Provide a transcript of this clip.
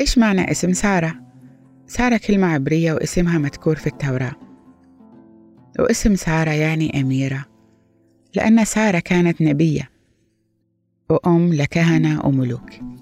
إيش معنى اسم سارة؟ سارة كلمة عبرية واسمها مذكور في التوراة، واسم سارة يعني أميرة، لأن سارة كانت نبية وأم لكهنة وملوك.